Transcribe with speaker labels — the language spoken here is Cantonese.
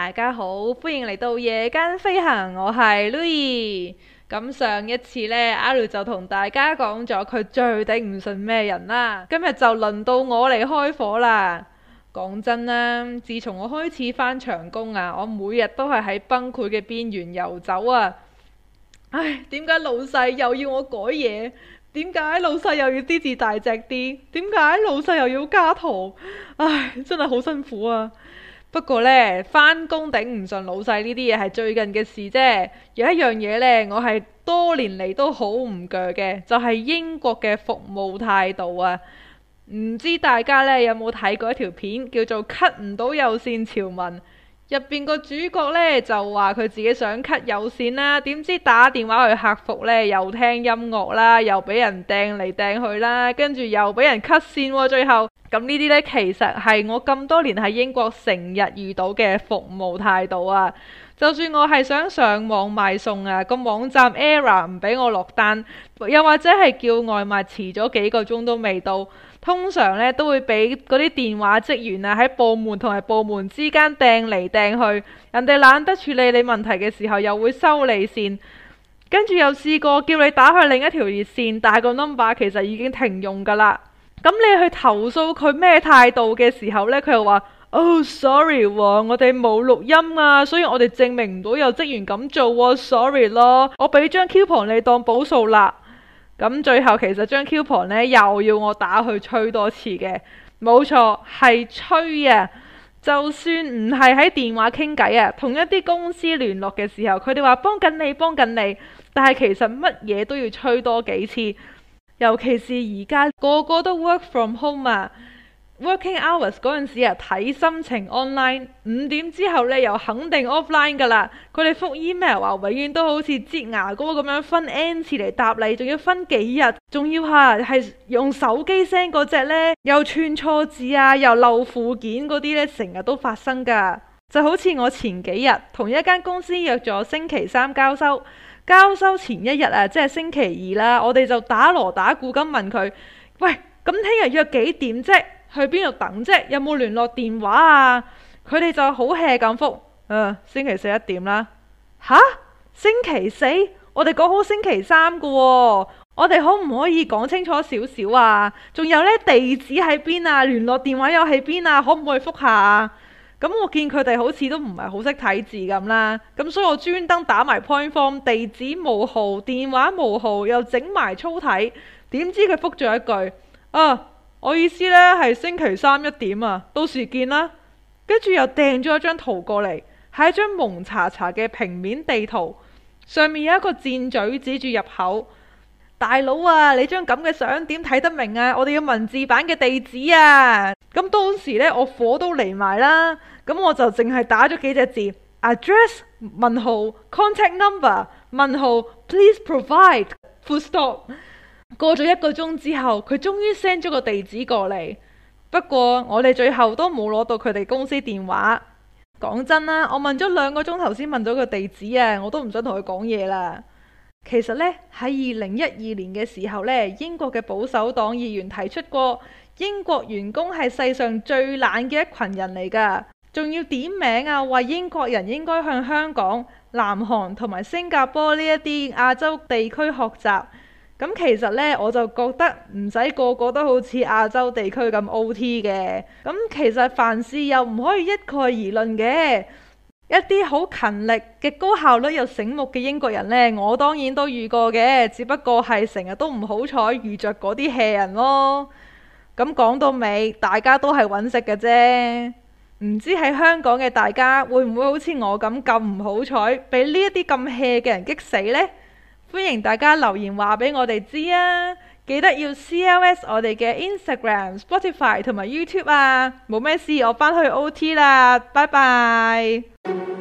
Speaker 1: 大家好，歡迎嚟到夜間飛行，我係 Louis。咁上一次呢，阿 Lu 就同大家講咗佢最頂唔順咩人啦。今日就輪到我嚟開火啦。講真啦，自從我開始返長工啊，我每日都係喺崩潰嘅邊緣游走啊。唉，點解老細又要我改嘢？點解老細又要啲字大隻啲？點解老細又要加圖？唉，真係好辛苦啊！不過呢，返工頂唔順老細呢啲嘢係最近嘅事啫。有一樣嘢呢，我係多年嚟都好唔鋸嘅，就係英國嘅服務態度啊。唔知大家呢有冇睇過一條片叫做 cut 唔到有線潮文？入邊個主角呢就話佢自己想 cut 有線啦，點知打電話去客服呢，又聽音樂啦，又俾人掟嚟掟去啦，跟住又俾人 cut 線喎，最後咁呢啲呢，其實係我咁多年喺英國成日遇到嘅服務態度啊。就算我係想上網買餸啊，個網站 error 唔俾我落單，又或者係叫外賣遲咗幾個鐘都未到，通常呢都會俾嗰啲電話職員啊喺部門同埋部門之間掟嚟掟去，人哋懶得處理你問題嘅時候又會收你線，跟住又試過叫你打去另一條熱線，但係個 number 其實已經停用㗎啦。咁你去投訴佢咩態度嘅時候呢，佢又話：Oh sorry 喎，我哋冇錄音啊，所以我哋證明唔到有職員咁做喎，sorry 咯，我俾張 coupon 你當補數啦。咁最後其實張 coupon 呢又要我打去催多次嘅，冇錯係催啊！就算唔係喺電話傾偈啊，同一啲公司聯絡嘅時候，佢哋話幫緊你幫緊你，但係其實乜嘢都要催多幾次。尤其是而家個個都 work from home 啊 ，working hours 嗰陣時啊睇心情 online， 5點之後呢又肯定 offline 噶啦。佢哋覆 email 啊，永遠都好似擠牙膏咁樣分 n 次嚟答你，仲要分幾日，仲要係用手機 send 嗰隻呢，又串錯字啊，又漏附件嗰啲呢，成日都發生噶。就好似我前幾日同一間公司約咗星期三交收。交收前一日啊，即係星期二啦，我哋就打鑼打鼓咁問佢：喂，咁聽日約幾點啫？去邊度等啫？有冇聯絡電話啊？佢哋就好 hea 咁覆：星期四1點啦。吓？星期四？我哋講好星期三噶喎，我哋可唔可以講清楚少少啊？仲有呢，地址喺邊啊？聯絡電話又喺邊啊？可唔可以覆下啊？咁我見佢哋好似都唔係好識睇字咁啦，咁所以我專登打埋 point form， 地址冒號，電話冒號，又整埋粗體。點知佢覆咗一句：我意思呢係星期三1點啊，到時見啦。跟住又掟咗一張圖過嚟，係一張蒙查查嘅平面地圖，上面有一個箭嘴指住入口。大佬啊，你張咁嘅相點睇得明啊？我哋要文字版嘅地址啊！咁當時呢，我火都嚟埋啦，咁我就淨係打咗幾隻字 address 問號 contact number 問號 please provide full stop。過咗1個鐘之後，佢終於 send 咗個地址過嚟。不過我哋最後都冇攞到佢哋公司電話。講真啦，我問咗2個鐘頭先問到個地址啊，我都唔想同佢講嘢啦。其實呢，喺2012年嘅時候呢，英國嘅保守黨議員提出過，英國員工係世上最懶嘅一群人嚟㗎，仲要點名啊，話英國人應該向香港、南韓同埋新加坡呢一啲亞洲地區學習。咁其實呢，我就覺得唔使個個都好似亞洲地區咁 OT 嘅。咁其實凡事又唔可以一概而論嘅。一啲好勤力嘅高效率又醒目嘅英國人呢，我當然都遇過嘅，只不過係成日都唔好彩遇着嗰啲 hea 人咯。咁講到尾，大家都係揾食嘅啫。唔知喺香港嘅大家會唔會好似我咁唔好彩，俾呢一啲咁 hea 嘅人激死呢？歡迎大家留言話俾我哋知啊！記得要 CLS 我哋嘅 Instagram、Spotify 同埋 YouTube 啊！冇咩事，我返去 OT 啦，拜拜。